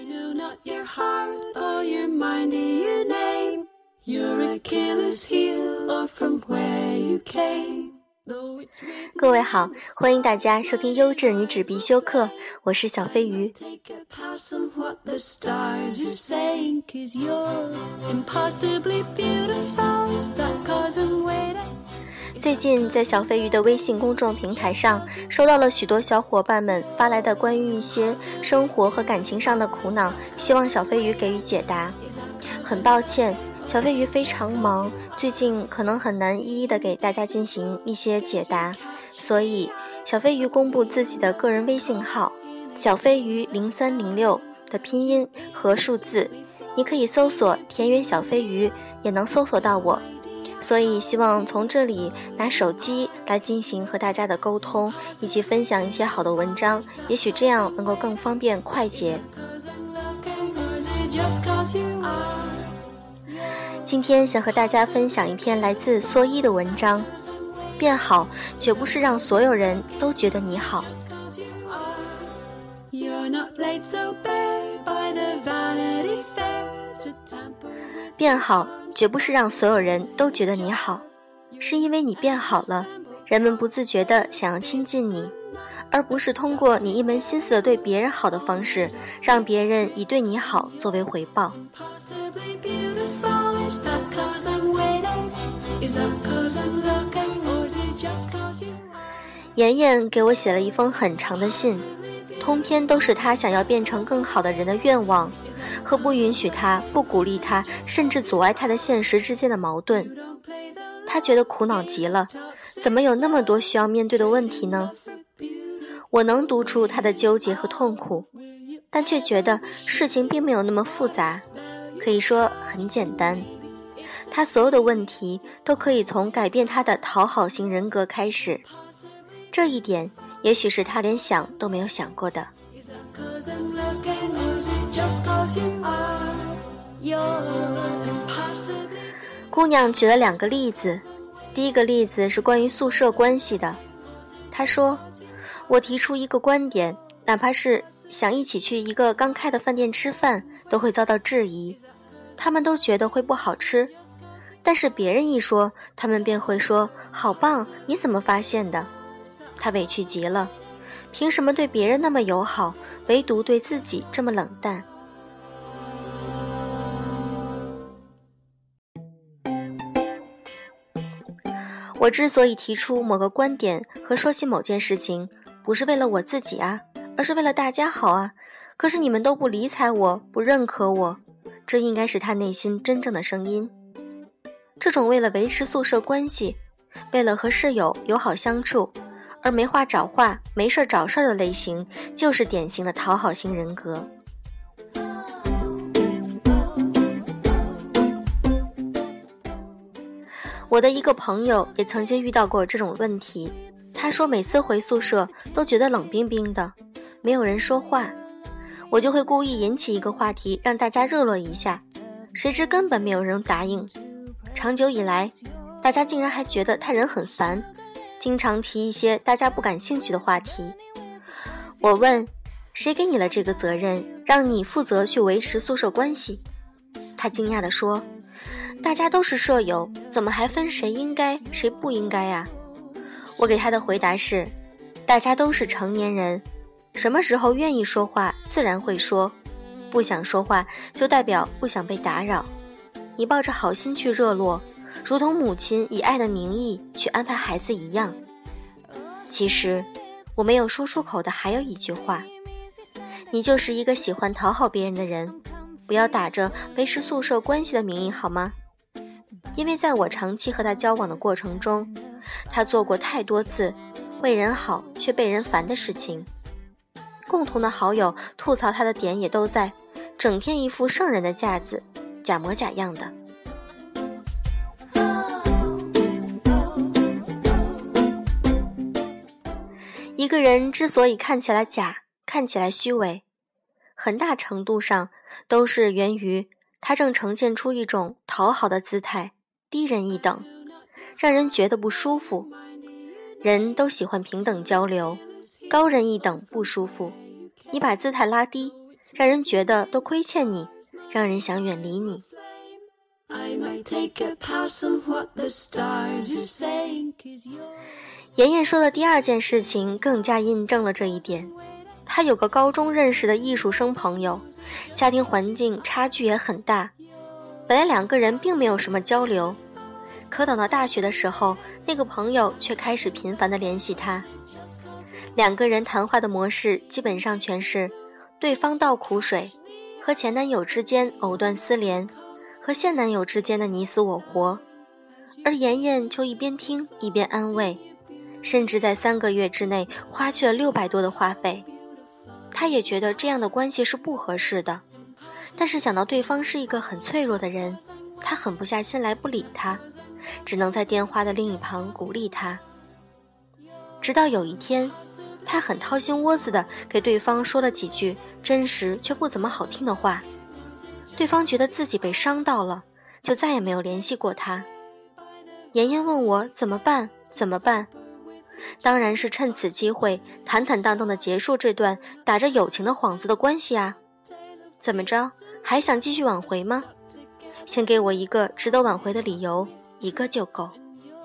I know not your heart or your mind or your name. Your Achilles heel or from where you came. 各位好，欢迎大家收听优质女纸必修课，我是小飞鱼。最近在小飞鱼的微信公众平台上收到了许多小伙伴们发来的关于一些生活和感情上的苦恼，希望小飞鱼给予解答。很抱歉，小飞鱼非常忙，最近可能很难一一的给大家进行一些解答，所以小飞鱼公布自己的个人微信号小飞鱼0306的拼音和数字，你可以搜索田园小飞鱼也能搜索到我，所以希望从这里拿手机来进行和大家的沟通，以及分享一些好的文章，也许这样能够更方便快捷。今天想和大家分享一篇来自蓑衣的文章，变好绝不是让所有人都觉得你好。变好绝不是让所有人都觉得你好，是因为你变好了，人们不自觉地想要亲近你，而不是通过你一门心思的对别人好的方式，让别人以对你好作为回报。妍妍给我写了一封很长的信，通篇都是她想要变成更好的人的愿望和不允许她、不鼓励她，甚至阻碍她的现实之间的矛盾。她觉得苦恼极了，怎么有那么多需要面对的问题呢？我能读出她的纠结和痛苦，但却觉得事情并没有那么复杂，可以说很简单。她所有的问题都可以从改变她的讨好型人格开始，这一点也许是她连想都没有想过的。姑娘举了2个例子，第一个例子是关于宿舍关系的。她说，我提出一个观点，哪怕是想一起去一个刚开的饭店吃饭，都会遭到质疑，他们都觉得会不好吃，但是别人一说，他们便会说好棒，你怎么发现的？他委屈极了，凭什么对别人那么友好，唯独对自己这么冷淡？我之所以提出某个观点和说起某件事情，不是为了我自己啊，而是为了大家好啊，可是你们都不理睬我，不认可我，这应该是他内心真正的声音。这种为了维持宿舍关系，为了和室友友好相处，而没话找话，没事找事的类型，就是典型的讨好型人格。我的一个朋友也曾经遇到过这种问题，他说每次回宿舍都觉得冷冰冰的，没有人说话，我就会故意引起一个话题让大家热络一下，谁知根本没有人答应。长久以来，大家竟然还觉得他人很烦，经常提一些大家不感兴趣的话题。我问，谁给你了这个责任，让你负责去维持宿舍关系？他惊讶地说，大家都是舍友，怎么还分谁应该谁不应该啊？我给他的回答是，大家都是成年人，什么时候愿意说话自然会说，不想说话就代表不想被打扰。你抱着好心去热络，如同母亲以爱的名义去安排孩子一样。其实我没有说出口的还有一句话，你就是一个喜欢讨好别人的人，不要打着维持宿舍关系的名义好吗？因为在我长期和他交往的过程中，他做过太多次为人好却被人烦的事情。共同的好友吐槽他的点也都在，整天一副圣人的架子，假模假样的。一个人之所以看起来假，看起来虚伪，很大程度上都是源于他正呈现出一种讨好的姿态，低人一等，让人觉得不舒服。人都喜欢平等交流，高人一等不舒服。你把姿态拉低， 让人觉得都亏欠你，让人想远离你。妍妍说的第二件事情更加印证了这一点。她有个高中认识的艺术生朋友，家庭环境差距也很大，本来两个人并没有什么交流，可等到大学的时候，那个朋友却开始频繁地联系她。两个人谈话的模式基本上全是对方倒苦水，和前男友之间藕断丝连，和现男友之间的你死我活，而妍妍就一边听一边安慰，甚至在3个月之内花去了600多的话费。她也觉得这样的关系是不合适的，但是想到对方是一个很脆弱的人，她狠不下心来不理他，只能在电话的另一旁鼓励他。直到有一天，她很掏心窝子地给对方说了几句真实却不怎么好听的话，对方觉得自己被伤到了，就再也没有联系过他。妍妍问我怎么办，当然是趁此机会坦坦荡荡地结束这段打着友情的幌子的关系啊。怎么着，还想继续挽回吗？先给我一个值得挽回的理由，一个就够。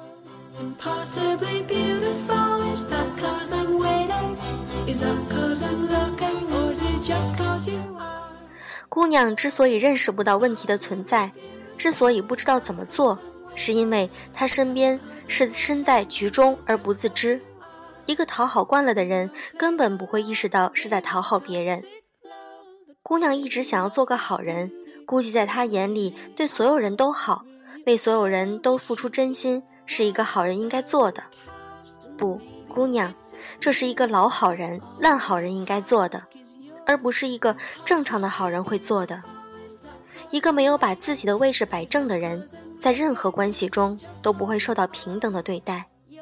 姑娘之所以认识不到问题的存在，之所以不知道怎么做，是因为她身边是身在局中而不自知。一个讨好惯了的人根本不会意识到是在讨好别人。姑娘一直想要做个好人，估计在她眼里对所有人都好，为所有人都付出真心，是一个好人应该做的。不，姑娘，这是一个老好人、烂好人应该做的，而不是一个正常的好人会做的。一个没有把自己的位置摆正的人，在任何关系中都不会受到平等的对待。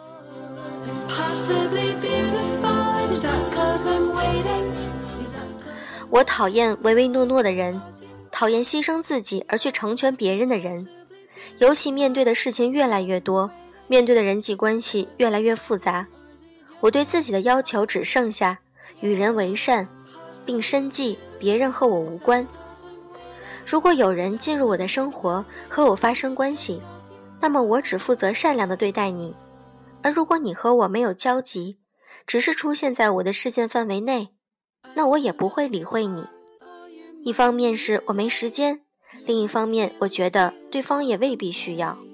我讨厌唯唯诺诺的人，讨厌牺牲自己而去成全别人的人。尤其面对的事情越来越多，面对的人际关系越来越复杂，我对自己的要求只剩下与人为善，并深记别人和我无关。如果有人进入我的生活和我发生关系，那么我只负责善良地对待你，而如果你和我没有交集，只是出现在我的视线范围内，那我也不会理会你。一方面是我没时间，另一方面我觉得对方也未必需要。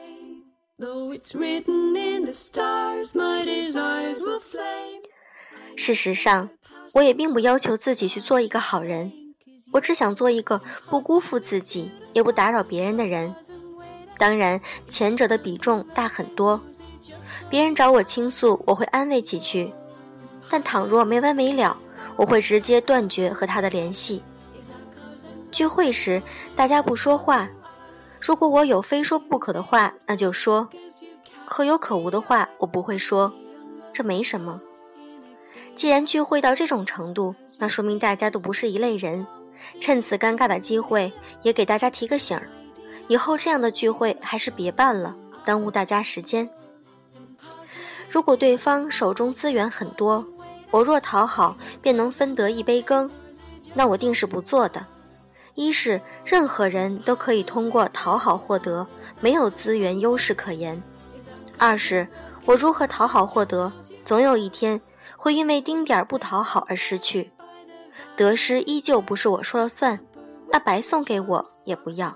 事实上，我也并不要求自己去做一个好人，我只想做一个不辜负自己也不打扰别人的人。当然前者的比重大很多，别人找我倾诉，我会安慰几句，但倘若没完没了，我会直接断绝和他的联系。聚会时大家不说话，如果我有非说不可的话，那就说，可有可无的话我不会说，这没什么。既然聚会到这种程度，那说明大家都不是一类人，趁此尴尬的机会也给大家提个醒儿，以后这样的聚会还是别办了，耽误大家时间。如果对方手中资源很多，我若讨好便能分得一杯羹，那我定是不做的。一是任何人都可以通过讨好获得，没有资源优势可言。二是我如何讨好获得，总有一天会因为丁点不讨好而失去，得失依旧不是我说了算，那白送给我也不要。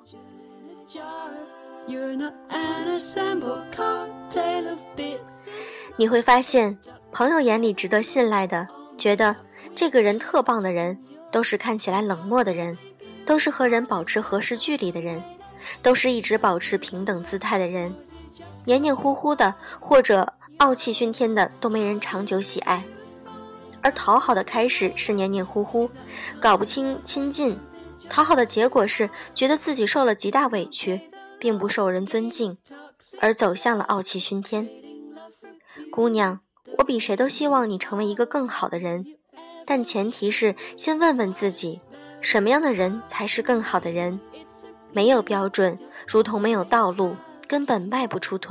你会发现，朋友眼里值得信赖的，觉得这个人特棒的人，都是看起来冷漠的人，都是和人保持合适距离的人，都是一直保持平等姿态的人，黏黏糊糊的或者傲气熏天的都没人长久喜爱。而讨好的开始是黏黏糊糊，搞不清亲近，讨好的结果是觉得自己受了极大委屈，并不受人尊敬，而走向了傲气熏天。姑娘，我比谁都希望你成为一个更好的人，但前提是先问问自己，什么样的人才是更好的人？没有标准，如同没有道路，根本迈不出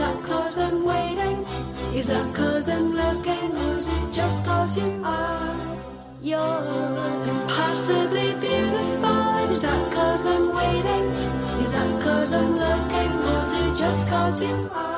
腿。Is that 'cause I'm looking, or is it just 'cause you are? impossibly beautiful. Is that 'cause I'm waiting? Is that 'cause I'm looking? Or is it just 'cause you are?